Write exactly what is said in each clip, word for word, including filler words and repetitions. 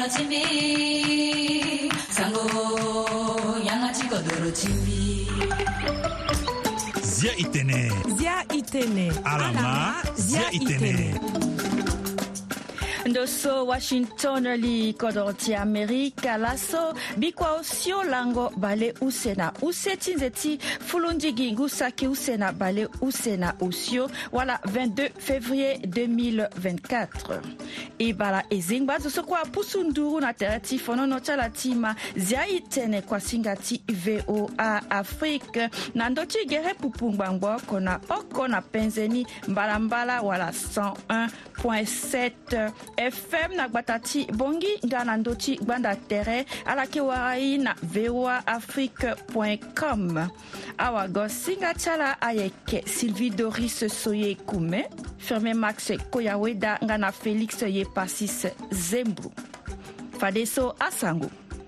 chimbi sango yangachi kodoro chimbi Zia itene Zia itene Alama Zia itene Ndoso Washington li kodorti Amerika laso bikwa osio lango bale usena useti nzeti fulundigi ngusaki usena bale usena osio wala vingt-deux février deux mille vingt-quatre ibala ezingba zosokwa pusunduru na terati fonono chalatima zia itene kwa singati V O A Afrique na ndoti gere pupungbangbo kona oko na penzeni mbalambala wala cent un point sept F M na gbatati bongi ngana ndoti gbanda tere ala ke warai na v o a afrique point com awa gosinga chala ayeke Sylvie Doris Soye Kume Ferme Max Koyaweda ngana Félix Yepasis Zembru Fadeso Asango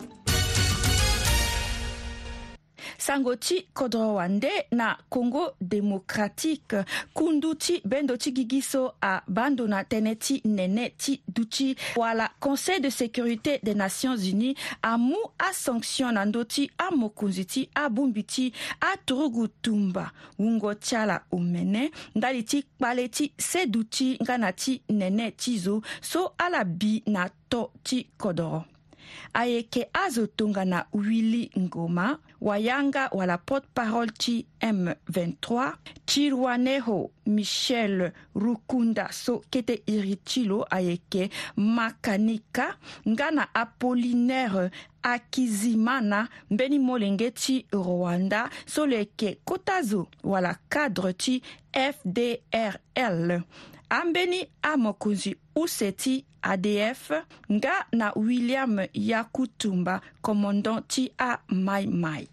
Sangoti Kodrowande na Congo démocratique kunduti bendoti gigiso a bandona teneti neneti duchi wala Conseil de sécurité des Nations Unies amu a sanction nandoti a mokunziti a bumbiti a turugutumba wungo chala umene ndaliti kpaleti seduti nganati neneti zo so ala bi na to ti kodoro ayeke azotonga na Willy Ngoma wayanga wala porte-parole ti M vingt-trois Chirwaneho Michel Rukunda so kete iritilo ayeke makanika ngana Apollinaire Akizimana mbeni molenge ti Rwanda so leke kotazo wala cadre ti F D R L ambeni amokunzi useti A D F nga na William Yakutumba commandant ti a Mai Mai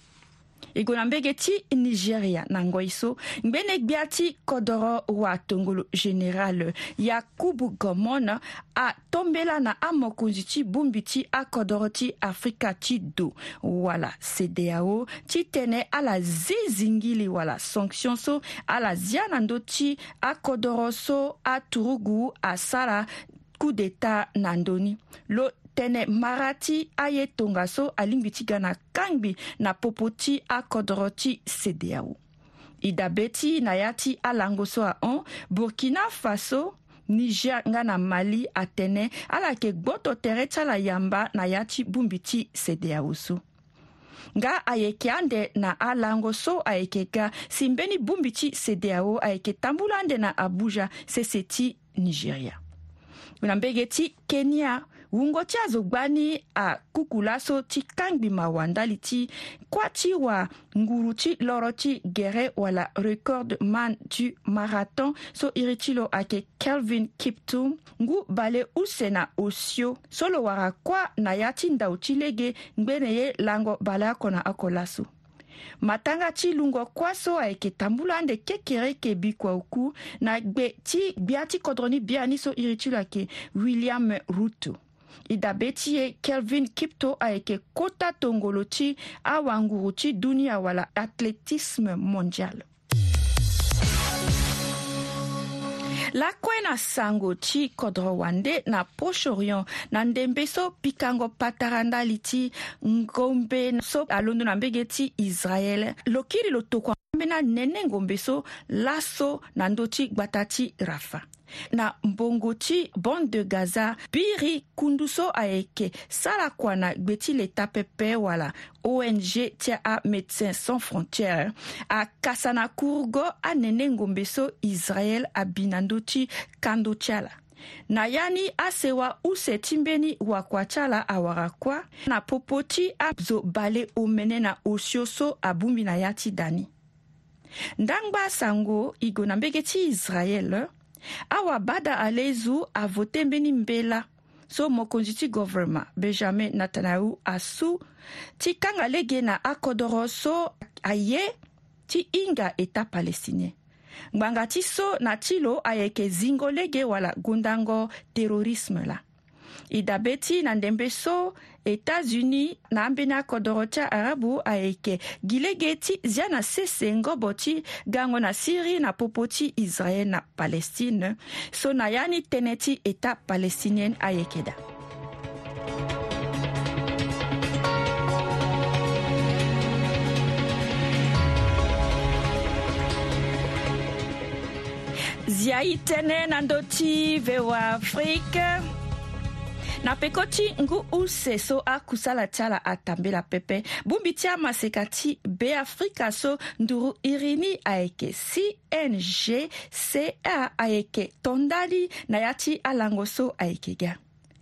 igona mbege ti Nigeria na ngoiso ngbene gbiati kodoro wa tongolo général Yakubu Gomona a tombela na amokunzi ti bumbi ti a kodoro ti Afrika ti do wala C D A O ti tene ala zizingili wala sanction so ala zianando ti a kodoro so a turugu a sala coup d'état nandoni lo tene marati aye tongaso alimbiti gana kangbi na popoti a kodoroti C D A O idabeti nayati alangoso a on Burkina Faso Niger ngana Mali atene ala ke gboto tere tala yamba nayati bumbiti C D A O so nga ayeke ande na alangoso ayeke ga simbeni bumbiti C D A O ayeke tambulande na Abuja seseti Nigeria Unambege ti Kenya wungo ti azogbani a kukulaso ti kangbi mawandali ti kwati wa nguru ti loro ti gere wala record man du marathon so iritilo ake Kelvin Kiptum ngu bale usena osio solo wara kwa na yati ndau ti lege ngbene ye lango bale akona akolaso matanga ti lungo kwaso ayeke tambulande kekere ke bikwa uku na gbe ti gbia ti kodroni biani so iritilo ake William Ruto idabeti ye Kelvin Kipto ayeke kota tongolo ti awanguru ti dunia wala athlétisme mondial la kwena sango ti kodrowande na Proche-Orient na ndembe so pikango patarandali ti ngombe so alondo na mbege ti Israel lokiri lo tokua mbena nene ngombe so laso na ndo ti gbata ti Rafa na mbongo ti bande de Gaza biri kunduso ayeke sala kwana gbeti leta pepe wala O N G tia a Médecins Sans Frontières a kasana kurgo a nene ngombe so Israel a binando ti kando tiala na yani asewa use timbeni wakwa chala awara kwa na popoti a zo bale omene na osio so abumbi na yati dani ndangba sango igo na mbege ti Israel awa bada alezu a voté mbeni mbela so mokonzi ti gouvernement Benjamin Netanyahu asu ti kanga lege na akodoro so aye ti inga eta palestinien ngbanga ti so na ti lo ayeke zingo lege wala gundango terrorisme la idabeti na ndembe so États-Unis na ambeni akodoro ti arabu ayeke gi lege ti zia na sese ngobo ti gango na Syrie na popo ti Israel na Palestine so na yani tënë ti état palestinienne ayeke da Ziai tene nandoti vewa Afrika. Na pekoti ngu use so a kusala tiala atambela pepe. Bumbitia masekati be Afrika so nduru irini aeke C N G C A aeke tondali nayati alango so aeke ga.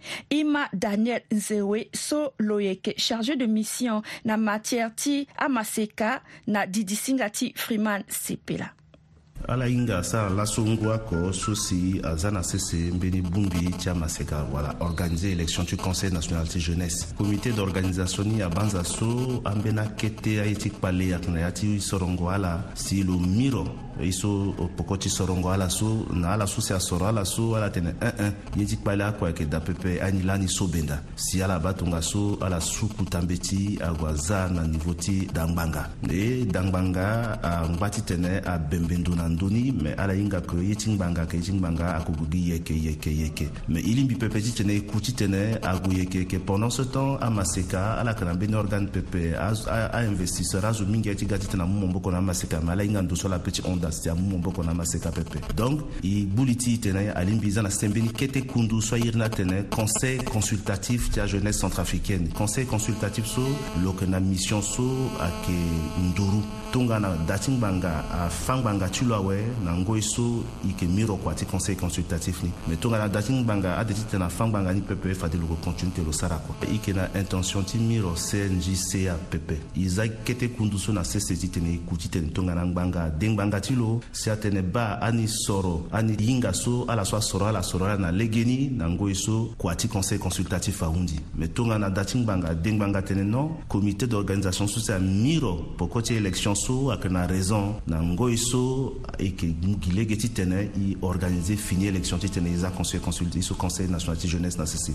Ima Daniel Nzewe so loyeke chargé de mission na matière ti amaseka na didisingati Freeman Sipela. Ala inga sa la songwa ko sosi azana sese mbeni bumbi tia maseka voilà organiser élection du Conseil national de jeunesse comité d'organisation ni abanza so ambena kete aiti pale yakna yati sorongo ala si lo miro iso pokoti sorongo ala so na ala so se asoro ala so ala tene un un yiti pale akwa ke da pepe anilani so benda si ala batunga so ala suku tambeti agwaza na nivoti dangbanga e dangbanga a ngati tene a bembendo na ndoni mais ala inga ko yiting banga ke yiting banga akugugi yeke yeke yeke mais ilimbi pepe tene kuti tene agu yeke ke pendant ce temps amaseka ala kana ben organe pepe a, a, a investisseur azu mingi ati gati tena mumbo kona amaseka mais ala inga ndo so la petit onda sia mumbo kona amaseka pepe donc i buliti tene alimbi zana stembeni kete kundu so irna tene conseil consultatif tia jeunesse centrafricaine conseil consultatif so lokena mission so ake nduru tonga na dating banga a fangbanga tulwawe na ngoiso ike miro kwati conseil consultatif ni mais tonga na dating banga a detite na fangbanga ni pepe fa de lo continuer lo sarako ike na intention ti miro C N J C A pepe iza kete kunduso na C C T tene kutite tonga na banga dengbanga tilo si atene ba ani soro ani yinga so ala so soro ala soro na legeni na ngoiso kwati conseil consultatif a undi mais tonga na dating banga dengbanga tene non comité d'organisation sociale miro pokoti élection so akena raison na ngoiso et que gilege titene i organiser fini élection titene isa conseil consulté so conseil national de jeunesse na ceci.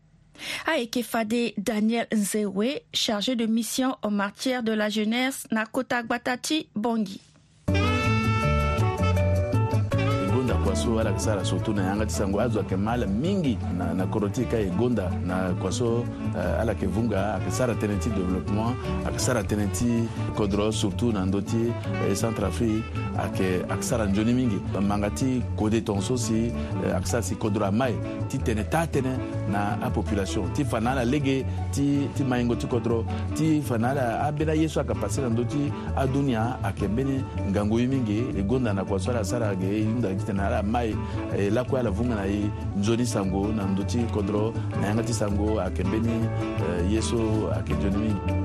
Aeke Fade Daniel Nzewe, chargé de mission en matière de la jeunesse na Kota Gbatati Bongi. Kwaso ala kisara surtout na yanga tisango azwa kemala mingi na na korotika egonda na kwaso uh, ala kevunga akisara tenenti développement akisara tenenti kodro surtout na ndoti eh, Centrafrique ake akisara njoni mingi mangati kode tonso si uh, akisara si kodro mai ti tene tatene na a population ti fanala lege ti ti maingo ti kodro ti fanala abena yesu akapasira ndoti adunia akembene ngango mingi egonda na kwaso ala sara ge yunda kitena ala mai eh, la kwa la vunga na i njoni sango na ndoti kodro na yangati sango akembeni eh, yeso akenjoni mingi.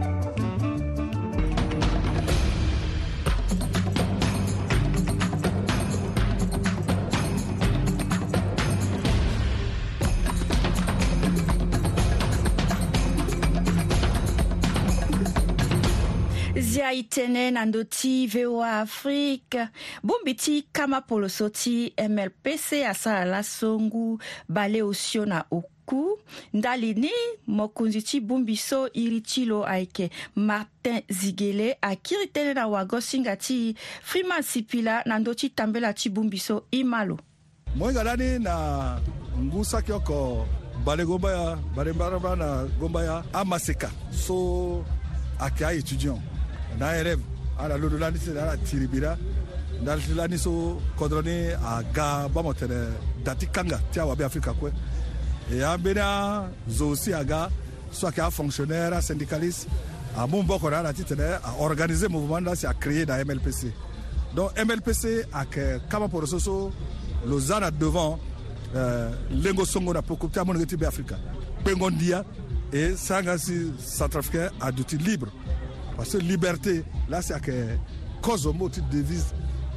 Itene nandoti V O A Afrique bumbiti kama polosoti M L P C asala la songu bale osio na oku ndalini mokunziti bumbiso iritilo aike Martin Zigele akiri tene na wago singati Freeman Sipila nandoti tambela ti bumbiso imalo moinga dani na ngusa kyoko bale gombaya bale baraba na gombaya amaseka so akia étudiant na rêve ala lodo lani se ala tiribira ndal lani so kodroni aga ba motere dati kanga tia wa be Afrika kwe e ambena zo si aga so ka fonctionnaire syndicaliste a mon boko na titene a organiser mouvement là c'est à créer dans M L P C donc M L P C a que kama pour so Lausanne devant euh, lengo songo na pokopta mon ngeti be Afrika pengondia et sangasi centrafricain a d'outils libres. Parce que liberté, là, c'est que cause au mot, tu devise,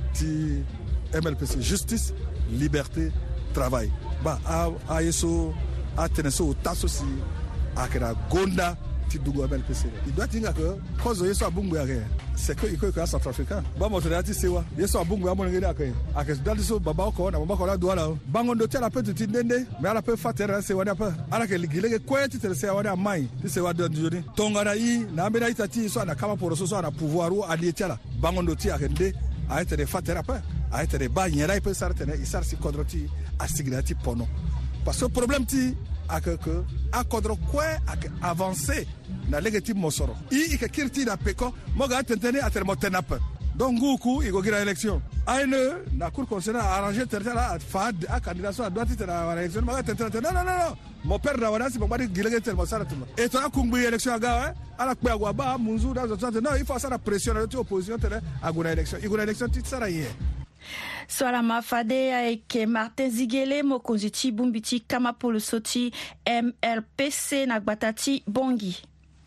tu M L P C, justice, liberté, travail. Bah, à Yeso, à Teneso, Tasso, aussi, à la Gonda, tu dois M L P C. Il doit dire que cause Yeso à Bungu, c'est que il faut que centrafricain. Bah, mon frère, tu sais quoi, Yeso à Bungu, à mon gars, à que dans le so, Baba, on a Baba, doit là. Bangon de tel, la peut te nende, mais à la peu faire, c'est what a peu. À la que les quoi, tu te sais, on a main, tu sais, what de Johnny. Tonganaï, Namena Itati, soit à la Kama pour ce soir, à pouvoir ou à l'Étiala. Bangon de tia, à render, à être des faterapeutes, à être des bains, il y a peu ça, il s'arrête si kodroti, à signati pono. Parce que le problème, tu à que à kodro quoi à avancer na légitime mosoro i i que kirti na peko moga tentene à termotenap donc nguku ikogira élection aine na cour constitutionnelle a arrangé tertera a fa a candidature a droite tera élection ma tertera non non non mon père na wana si papa gilege tel mosara tuma et toi kumbi élection aga ala kwa gwa ba munzu da zo non il faut ça la pression de l'opposition tera aguna élection iguna élection titsara hier swala mafade ayeke Martin Zigele mokonzi ti bungbi ti kama polo so ti M L P C na gbata ti bongi.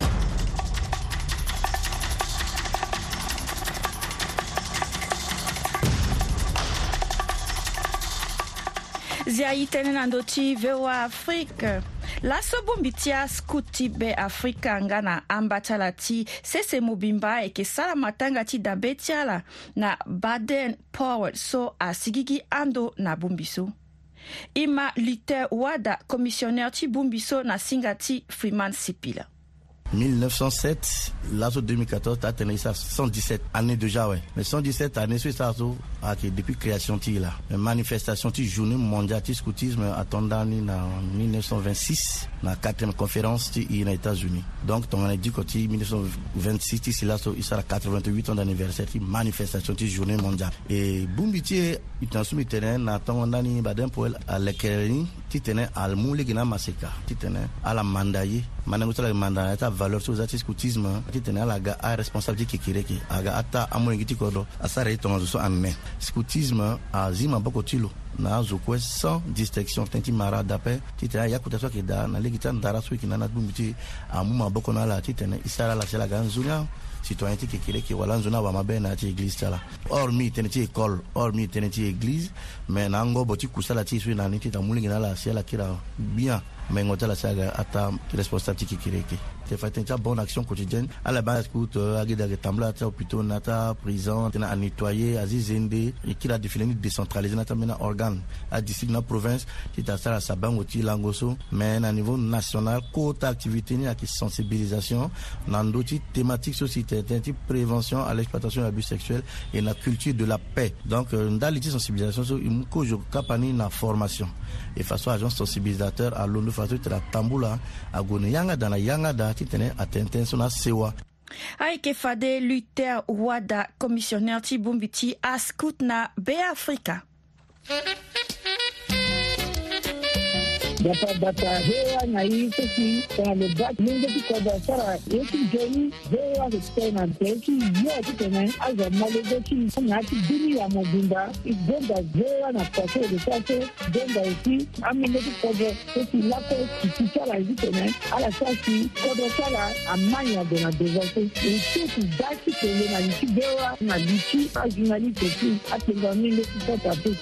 Zia itene na ndo ti V O A Afrique. Laso bungbi ti a scout ti be Afrika nga na ambata ti sese mobimba e ke sala matanga ti dabe ti ala na Baden Powell so a sigigi ando na bungbi so. Ima Luther Wada, commissionnaire ti bungbi so na singa ti Freeman Sipila. mille neuf cent sept, l'A S O deux mille quatorze, t'as tenu ça cent dix-sept années déjà, ouais. Mais cent dix-sept années, c'est ça, depuis création, tu là. Une manifestation, tu journée mondiale, tu scoutisme, attendant, en mille neuf cent vingt-six, la quatrième conférence, tu aux États-Unis. Donc, on a dit que tu mille neuf cent vingt-six, tu c'est là, il sera quatre-vingt-huit ans d'anniversaire, tu manifestation, tu journée mondiale. Et, Bumbiti, il t'en soumet terrain, attends, on a dit, Baden Powell, à l'éclairage, tu tenais à l'moule, qui n'a masséka, tu tenais à la mandaye, mandaye, la mandaye, ta valeur sur le scoutisme, tu tenais à la gare, à responsabilité qui est qui, à la ata, à mon équipe, à ça, il ton en main. Scoutisme, à Zima Bokotilo, na zokwe sans distinction, tenti mara d'appel, tu tenais à yakuta so qui da, na l'équipe d'Arasou qui n'a pas de à Mouma Bokona la, tu tenais, Isara la Chela Ganzuna, citoyenneté qui est qui wala nzona ba mabe na ti église tala hormis teneti école hormis teneti église mais nango boti kusala ti sui na niti ta mulingi na la sia la kira bien mais ngota la saga ata responsable qui kireke te fait une bonne action quotidienne à la base écoute agida retambla ta hôpital nata prison tena à nettoyer azizende et qui a défini décentraliser nata mena organe à district na province qui ta sala saban oti langoso mais à niveau national côté activité ni à qui sensibilisation nando ti thématique société type prévention à l'exploitation de l'abus sexuel et la culture de la paix. Donc, dans les sensibilisation, il faut que je capane na formation. Et façon agence sensibilisateur à l'onu façon de la tamboula à gone yanga dans la yanga da qui tenait à tenten son sewa. Aike fade Luther Wada, commissionnaire ti bungbi ti a scout na be Afrika. Data data hewa na hii sisi kwa lebak mingi tuko dasara yeki jeni hewa kutena teki yeki tena aza malego ki ngati dini ya mobimba ibonda hewa na pase de sase bonda isi amine tuko sisi lako kitala hizi tena ala sasi kodo sala amanya de na desase isi dati tele na isi hewa na lichi ajunali teki atenga mingi tuko tapu.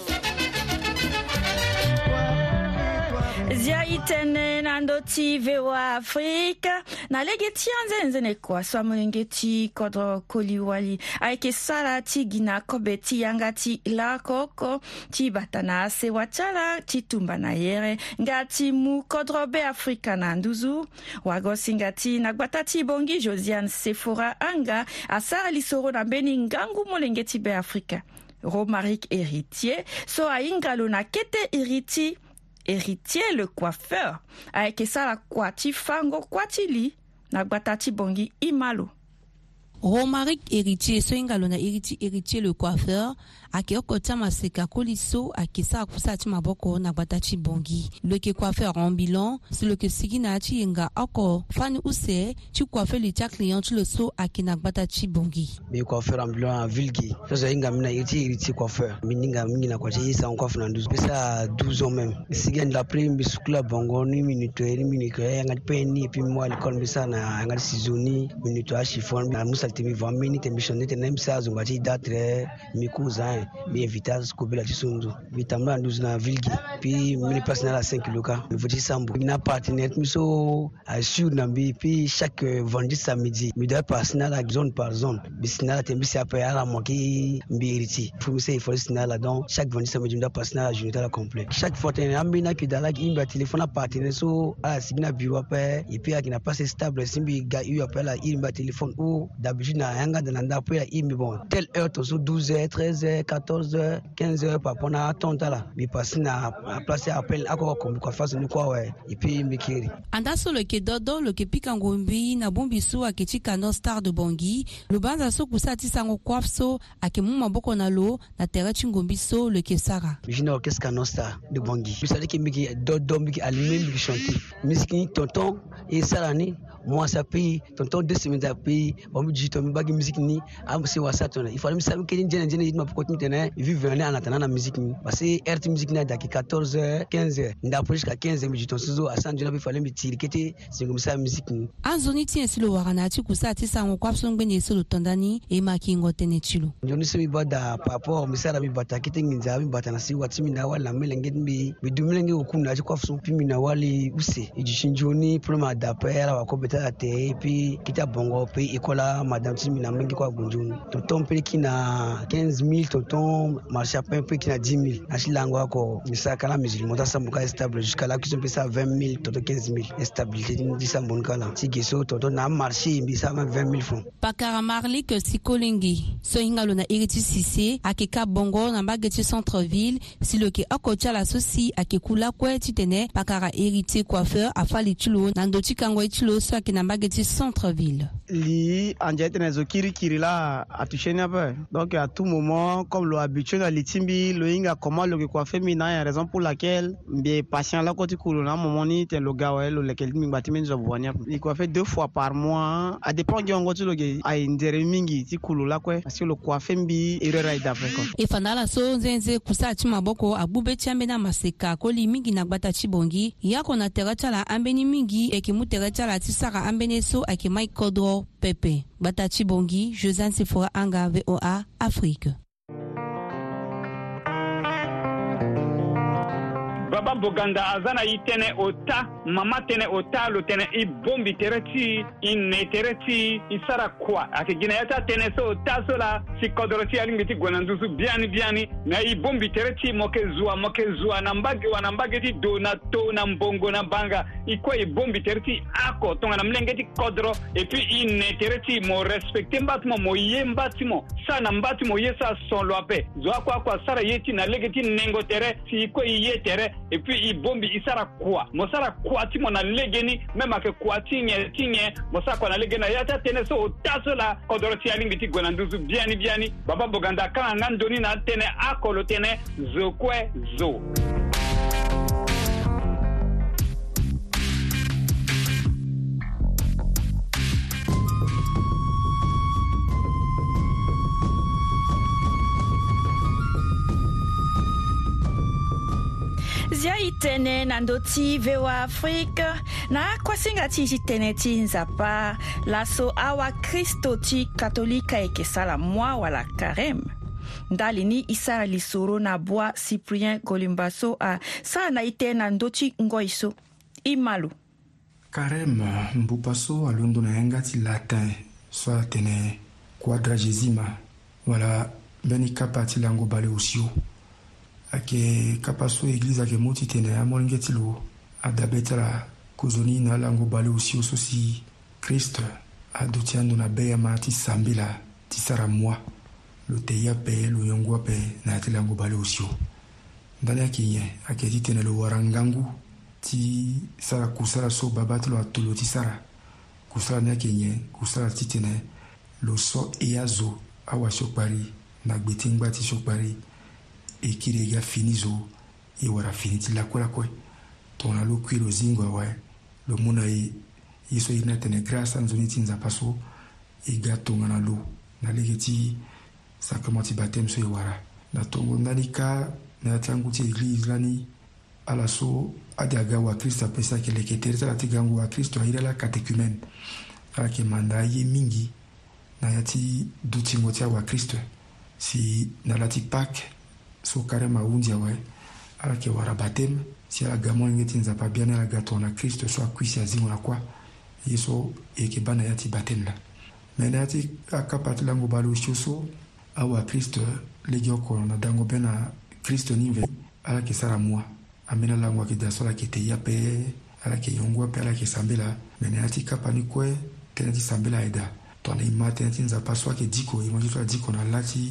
Zia itene nando ti V O A Afrika na lege ti anze ne kwa so amolenge ti kodro koliwali aike sala ti gina kobe ti yanga ti la koko ti batana se wachala ti tumba na yere ngati mu kodro be Afrika na nduzu wago singati na gbata ti bongi Josiane Sephora anga asara lisoro na beni ngangu molenge ti be Afrika Romaric héritier so aingalo na kete héritier héritier le coiffeur avec ça la kwati fango kwatili na batati bongi imalo. Romaric héritier so ingalo na héritier héritier le coiffeur akioko tama seka koliso akisa kusati maboko na batati bongi le ke coiffeur en bilan c'est le que sigina ti nga oko fani use ti coiffeur le ta client tu le so akina batati bongi be coiffeur en bilan vilgi so inga mina héritier héritier coiffeur mininga mingi kwa ti sa coiffe na douze ça douze ans même sigen d'après bisukla bongo ni minute ni minute nga peni puis moi l'école bisa na nga sizoni minute a chiffon na musa temi vingt minutes émission te nem sa zongati datre mi cousin mi invitas ko bela tisundu vitamla douze na vilgi puis mi personnel à cinq loka mi voti sambo mi na partenaire mi so assure na bi puis chaque vendredi samedi mi doit personnel à zone par zone bisina te mi sa pa ala moki mbiriti pour mi se faut sinala donc chaque vendredi samedi mi doit personnel à journée la complet chaque fois te ambina ki dala ki imba téléphone à partenaire so ala signa bureau pa et puis qui n'a pas stable simbi ga eu appel à imba téléphone ou d'habitude na yanga de nanda pour la imbi bon telle heure to so douze heures treize heures quatorze heures, quinze heures par rapport à ton là. Mais passer na place appel à quoi comme quoi face ni quoi ouais. Et puis mikiri. Anda so le ke dodo le ke pikangombi na bombiso aketika no star de Bangui. Le banza so kusati sango kwafso akemu maboko na lo na terre chingombiso le ke sara. Jina orchestre no star de Bangui. Vous savez que miki dodo miki allumé miki chanter. Musique tonton et sarani moi ça paye tonton deux semaines à payer bon me dit ton bagi musique ni am c'est wa ça ton il fallait me savoir que jene jene il m'a pourquoi tu tenais vivre venir en attendant la musique ni parce que R T musique na daki quatorze heures quinze heures ndapo jusqu'à quinze heures me dit ton suzo à San Diego il fallait me tirer que c'est comme ça musique ni anzoni tien si le warana tu kusa ti sango kwa so ngbenye so lo tondani e makingo tenechilo njoni so mi bada papa mi sara mi bata kite nginza mi bata na si wati mi na wala melenge mi mi dumlenge okuna ti kwa so pi mi na wali use ejishinjoni problème d'apera wa ko et puis kita bongo puis écola madame Timina mengi kwa gunjuni tonton pe kina quinze mille tonton marché à peu kina dix mille achilango ako misaka la musique monta sambuka stable jusqu'à là qui sont ça vingt mille tonton quinze mille stabilité di sambonka là tigeso tonton na marché mbisa vingt mille francs pakara marli que sikolingi so ingalo na iriti sisi akeka bongo na bageti centre ville si le ke akocha la sosi akekula kwa titene pakara héritier coiffeur afali tulo na ndoti kango tulo so akena bageti centre ville li anjete na zokiri kirila atusheni peu donc à tout moment comme lo habitué na litimbi lo inga comment le coiffeur mina ya raison pour laquelle bien patient là côté kulo na moment ni te lo gawa lo lequel mi batimen zo bwania il coiffe deux fois par mois à dépend de ngoto lo ge ay ndere mingi ti kulo la kwa parce que le coiffeur mbi erera idafre ko e fanala so nzenze kusa ti maboko abube chambe na maseka ko li mingi na gbata chibongi yako na terata la ambeni mingi e ki muterata la ti saka ambene so ake Mike Kodro Pepe gbata chibongi Josanne Sephora Anga V O A Afrique. Baba Boganda azana itene ota mama tene ota lo tene i bombi tereti in ne tereti isara kwa akigina yata tene so ota so la si kodoroti alingiti gwanandusu biani biani na i bombi tereti moke zua moke zua na mbage wana mbage ti do na to na mbongo na banga ikwa i bombi tereti ako tonga na mlengeti kodro et puis in ne tereti mo respecte mbatimo mo ye mbatimo sana mbatimo ye sa son loape zo akwa kwa sara yeti na legeti nengo tere si ikwa i ye tere et puis il bombi isara kwa mosara kwa ti mona legeni même que kwa tinye tinye mosara kwa na legena yata tene so taso la kodoroti alingi ti gwananduzu biani biani Baba Boganda kana ngandoni na tene akolo tene zokwe zo Zia itene nandoti V O A Afrique na kwasinga ti itene ti nzapa laso awa Kristo ti katolika ekesala mwa wala karem ndali ni isara lisoro na bwa Cyprien Golimbaso a sa na ite na ndoti ngoiso imalu karem mbupaso alundo na yenga ti latin so tene quadragesima wala beni kapati lango bale osio ake kapaso église ake moti tene amolingeti lo adabetala kozoni na lango bale osio sosi Christ adotiando na beya mati sambila tisara moi lo teya pe lo yongwa pe na ti lango bale osio ndani ake nye ake ti tene lo warangangu ti sara kusala so babati lo atolo ti sara kusala ni ake nye kusala ti tene lo so eyazo awa sokpari na gbetingba ti sokpari e kirega finizo e wara finiti la kwela kwe tona lo kwilo zingo wa lo muna e yeso ina tene grâce nzoni tinza paso e gato ngana lo na legeti sakamati baptême so e wara na tongo ndalika na tangu ti église lani ala so adiaga wa Kristo pesa ke leketerza la tigango wa Kristo ira la catéchumène ala ke manda ye mingi na yati dutingo tia wa Kristo si na lati Pâques so karema undia wa ala ke wara baptême si ala gamo ngeti nzapa bien ala gato na Kristo so akwisi azingo na kwa yeso e ke bana yati baptême la mais yati akapati lango balo shoso awa Kristo legio ko na dango bena Kristo nive ala ke sara moi amena lango ke dasola ke te yape ala ke yongwa pe ala ke sambela mais yati kapani kwe tenati sambela eda tona imate yati nzapa so ke diko imonji to diko na lati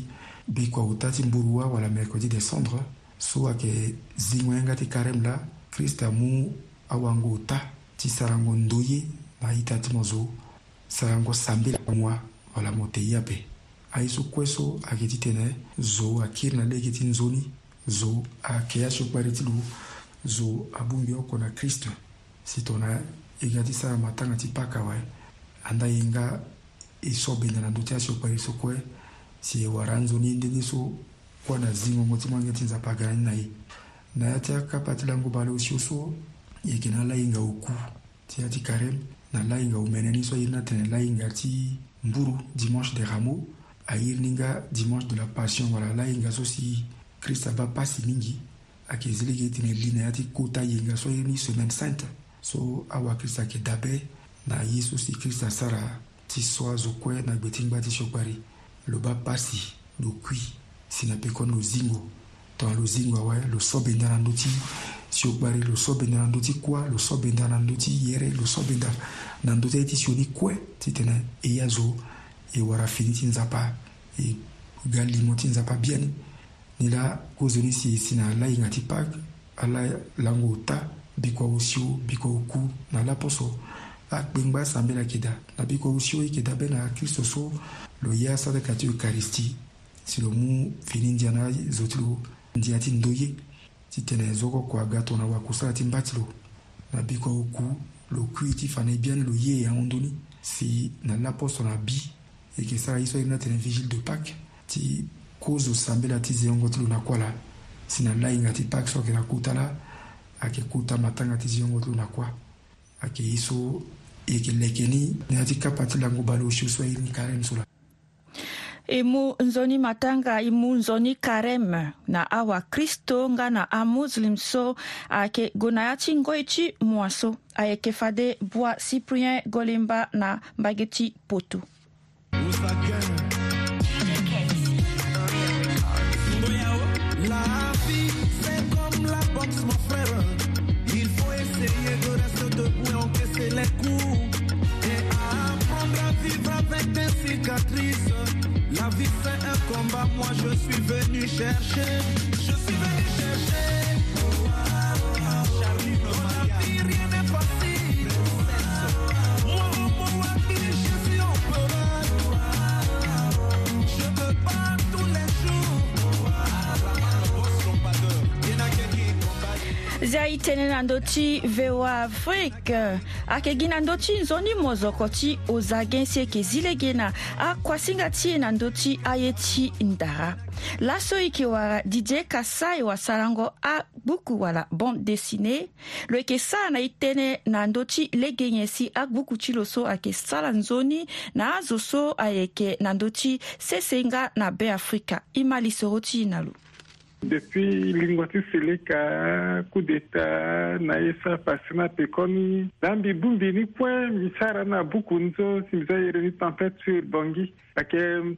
bikwa utati mburua wala mercredi des cendres so ake zingwenga ti karem la Krista mu awango uta ti sarango ndoye na itati mozo sarango sambila mwa wala mote yape aiso kweso ake ti tene zo akir na lege ti nzoni zo ake ya shokbari ti lu zo abungi oko na Krista si tona iga ti sara matanga ti paka wai anda inga iso benda na ndote ya shokbari so kwe si waranzo ni ndeni so kwa na zingo ngoti mwange tinza pagani na hii na yati akapati langu bale usiuso yeke na la inga uku ti yati karem na la inga umeneni so yirna tene la inga ti mburu dimanche de rameaux a yirninga dimanche de la passion wala la inga so si Krista ba pasi mingi ake zilege tene lina yati kota yinga so yirni semaine sainte so awa Krista ke dabe na yesu si Krista sara ti soa zo kwe na gbetingba ti shokbari lo ba pasi lo kui sina pekon lo zingo to lo zingo awa lo sobenda na ndoti shokbari lo sobenda na ndoti kwa lo sobenda na ndoti yere lo sobenda na ndoti ti sioni kwe ti tene e yazo e wara fini ti nzapa e gali mo ti nzapa biani ni la kozoni si sina la inga ti pak ala lango ta bikwa usio bikwa uku na la poso akpengba sambela keda na bikwa usio ikeda bena Kristo so lo ya sada kati Eucharistie si lo mu fini ndiana zotilo ndiati ndoye ti tene zoko kwa gato na wakusala ti mbatilo na bikwa uku lo kui ti fane biani lo ye ya ondoni si na l'aposto na bi e ke sara iso ina tene vigile de Pâques ti kozo sambela ti ziongo ti lo na kwala si na la inga ti Pâques so ke na kutala ake kuta matanga ti ziongo ti lo na kwa ake iso e ke lekeni na ti kapati lango balo shi so ini karem sula imu nzoni matanga imu nzoni karem na awa Kristo nga na a muslim so ake gonayati ngoichi mwaso ayeke fade bua Cyprien Golemba na mbageti poto. La vie c'est comme la boxe mon frère, il faut essayer de rester debout et encaisser les coups et apprendre à vivre avec des cicatrices. La vie c'est un combat, moi je suis venu chercher, je suis venu chercher. Oh, ah, oh, ah, Charlie, dans la vie rien n'est facile. Moi, moi, moi, je suis en peureux. Je me bats tous les jours. Zai tene na ndoti vewa Afrique ake gina ndoti nzoni mozokoti ozagensi eke zilegena a kwasinga ti na ndoti ayeti ndara laso iki wara D J Kasai wa sarango a buku wala bande dessinée lo eke sa na itene na ndoti legenyesi a buku chiloso ake sala nzoni na azoso ayeke na ndoti sesenga na be Afrika imali soroti nalu. Depuis Lingwati Seleka, coup d'état, naesa pasina pekoni, dambi bumbi ni point, misara na bukunzo, simza yereni tempête sur Bongi. Ake,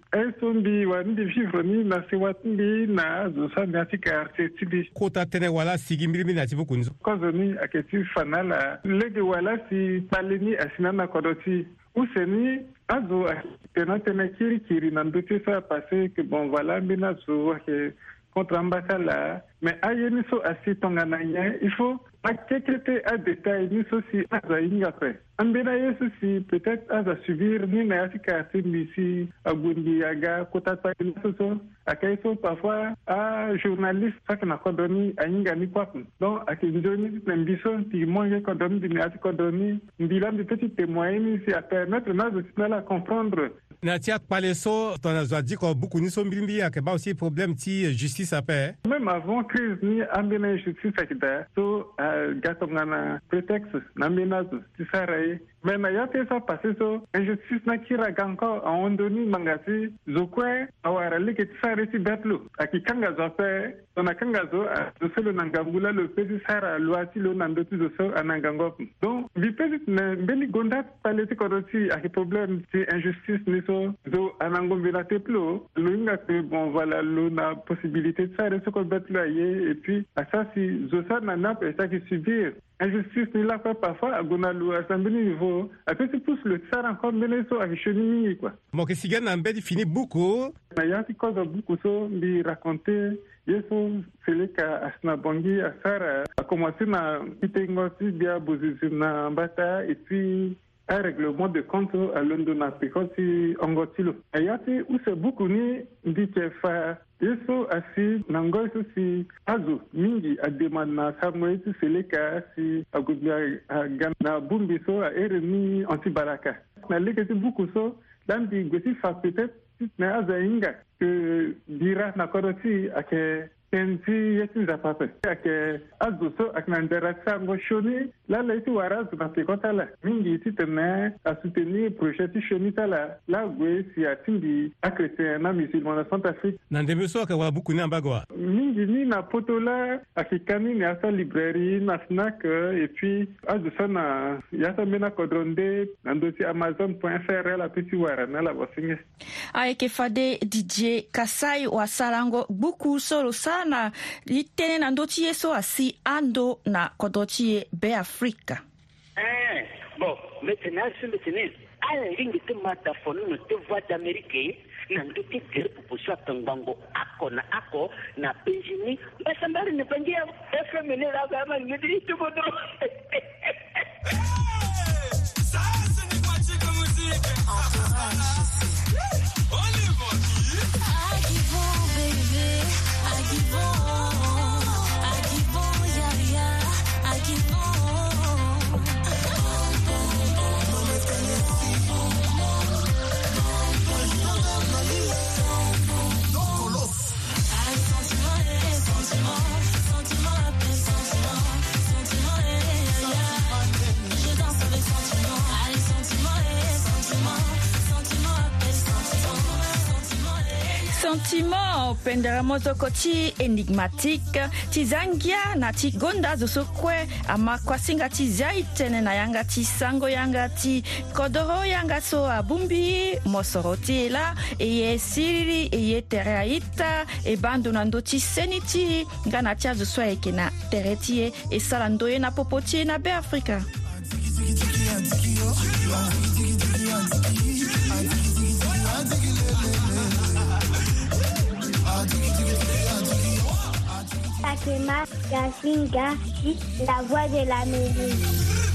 esombi wandi vivre ni na sewatndi na zosa nyati karte tibi. Kota tene wala sigi mbili na tibu kunzo. Kozoni ake ti fanala, lege wala si paleni asina na kodoti. Ouseni, azo ake tena tena kiri kiri na ndote sa passé que bon voilà, mbina zo ake contre l'ambassade, mais aïe so assis tongananya, il faut à quelques à détail ni si à y après. Ambena yesu si peut-être à subir ni na asika ici à Gundiaga kota pa ni so akaiso parfois à journaliste ça que na kodoni ainga ni quoi. Donc à kinjoni n'ambiso ti moye kodoni ni asika kodoni bilan de petits témoins si à permettre na de la comprendre. Na tia paleso ton a dit que beaucoup ni sont bimbi a que ba aussi problème ti justice à paix. Même avant crise ni ambena justice akida so gatongana prétexte n'ambena ti sarai mais na yate ça passé so injustice na kira ganko a ondoni mangasi zokwe awara like ti sarai ti betlu akikanga zo pe ona kanga zo zo selo nangambula le pedi sara loati lo nandoti zo so anangango donc vi pedi na beli gonda paleti kodoti a problème ti injustice ni so zo anangombela te plo lo inga que bon voilà lo na possibilité de faire ce qu'on bet là et puis à ça si zo ça na na peut ça qui subir injustice ni la quoi parfois à Gonalu à Sambini niveau à petit pouce le tsar encore meneso à Chenimi quoi. Mon que sigan en bed fini beaucoup. Na ya ti cause beaucoup so bi raconter yeso c'est ka asna bongi asara a commencé na pitengoti bia bozizina mbata et puis un règlement de compte à London à Picoti Angotilo. Ayati où c'est beaucoup ni dit fa yeso asi nangoy si azu mingi a demande na samoy c'est le cas si agubia gana bumbi so a eremi anti-baraka. Na lekati beaucoup so dan di gosi fa peut-être na azainga que dira na koroti ake Tenti yetu za pape. Ake azuso aknanderasa ngoshoni la la iti waraz na pekota la. Mingi iti tene a soutenir projet ti shonita la. La gwe si atindi akrete na musulman na Centrafrique. Nandemeso akawa buku ni ambagwa. Mingi ni na poto la akikani ni asa librairie na Fnac et puis azuso na yasa mena kodronde nandosi amazon point f r la petit wara na la bosinge. Aeke fade D J Kasai wa salango buku solo sa na litene na ndoti yeso asi ando na kodoti be Afrika. Eh, bon, maintenant c'est maintenant. À la ligne de mataphone, nous te voix d'Amérique, na ndoti gere pour soit tangango ako na ako na Benjamin, ba sambari ne bangia F M ne la gama ne dit tout bodo. Ça c'est ni quoi tu comme musique. Sentiment penderamozo koti enigmatique tizangia na tigonda zosokwe ama kwasinga tizaitene na yanga tisango yanga ti kodoro yanga so abumbi mosoroti la eye siri eye tereaita e bando na ndoti seniti ngana tia zoswa eke na teretie e salandoye na popotie na be Afrika. Fatima Yasinga, la voix de la musique.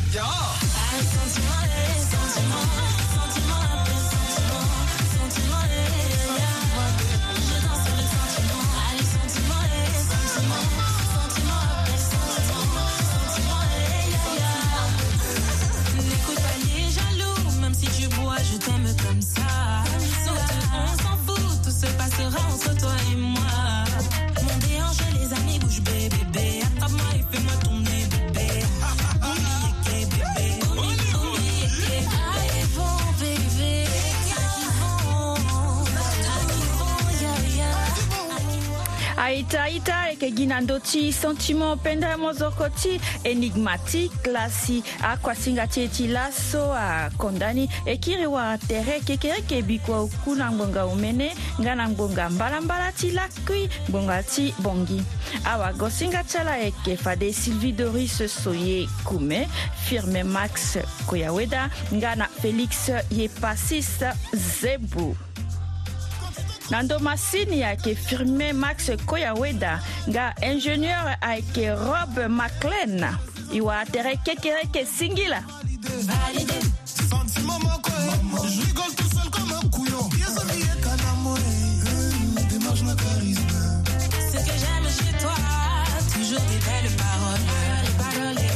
N'écoute pas les jaloux, même si tu bois, je t'aime comme ça. Surtout, on s'en fout, tout se passera entre toi et moi. Les amis bouge bébé, bébé, attrape-moi et fais-moi tourner bébé. Oubliez que bébé, oubliez que arrivons bébé, arrivons, arrivons, ya ya. Aïta aïta eke ginandoti sentiment penda mozokoti enigmatique lasi akwa singati ti laso a kondani ekiri wa tere kekere kebikwa ukuna ngonga umene ngana ngonga mbala mbala ti lakui ngonga ti bongi awa gosinga chala eke fade Sylvie Doris Soye Kume firme Max Koyaweda ngana Félix Yepasis Zebu Nando masini yake firme Max Koyaweda nga ingénieur ake Rob McLean iwa tere kekereke singila Validé. Sentiment moko, je rigole tout seul comme un couillon. Yes, on est canamoré, démarche na charisme. Ce que j'aime chez toi, toujours des belles paroles, les paroles les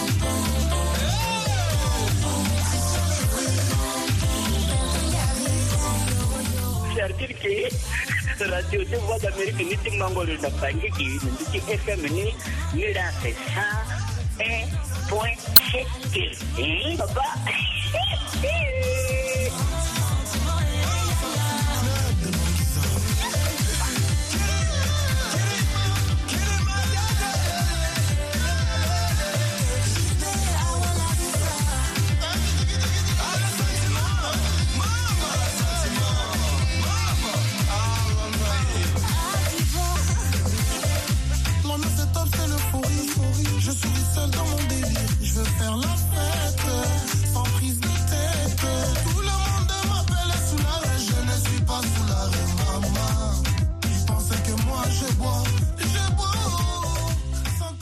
C'est-à-dire que la radio de voix d'Amérique ni timangolo na bangi ki ni F M ni ni la c'est ça un point sept. Hein papa?